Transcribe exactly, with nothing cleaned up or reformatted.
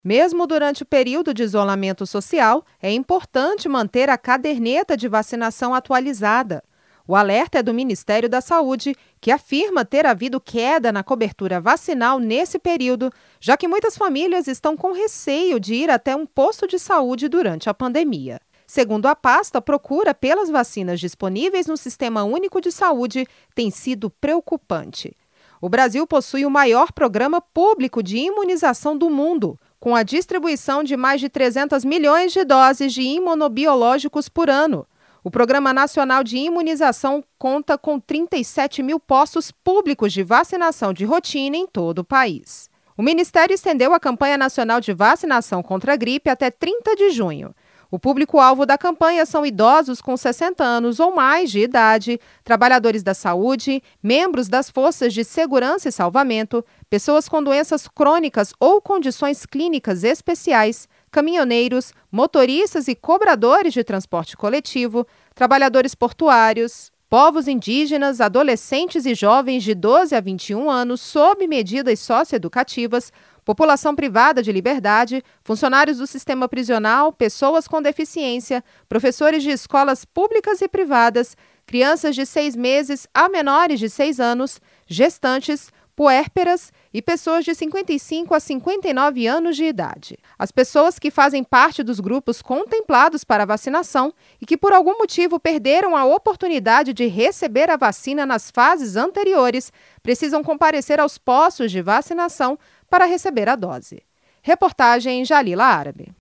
Mesmo durante o período de isolamento social, é importante manter a caderneta de vacinação atualizada. O alerta é do Ministério da Saúde, que afirma ter havido queda na cobertura vacinal nesse período, já que muitas famílias estão com receio de ir até um posto de saúde durante a pandemia. Segundo a pasta, a procura pelas vacinas disponíveis no Sistema Único de Saúde tem sido preocupante. O Brasil possui o maior programa público de imunização do mundo, com a distribuição de mais de trezentos milhões de doses de imunobiológicos por ano. O Programa Nacional de Imunização conta com trinta e sete mil postos públicos de vacinação de rotina em todo o país. O Ministério estendeu a campanha nacional de vacinação contra a gripe até trinta de junho. O público-alvo da campanha são idosos com sessenta anos ou mais de idade, trabalhadores da saúde, membros das forças de segurança e salvamento, pessoas com doenças crônicas ou condições clínicas especiais, caminhoneiros, motoristas e cobradores de transporte coletivo, trabalhadores portuários, povos indígenas, adolescentes e jovens de doze a vinte e um anos sob medidas socioeducativas, população privada de liberdade, funcionários do sistema prisional, pessoas com deficiência, professores de escolas públicas e privadas, crianças de seis meses a menores de seis anos, gestantes, puérperas e pessoas de cinquenta e cinco a cinquenta e nove anos de idade. As pessoas que fazem parte dos grupos contemplados para a vacinação e que por algum motivo perderam a oportunidade de receber a vacina nas fases anteriores precisam comparecer aos postos de vacinação para receber a dose. Reportagem Jalila Árabe.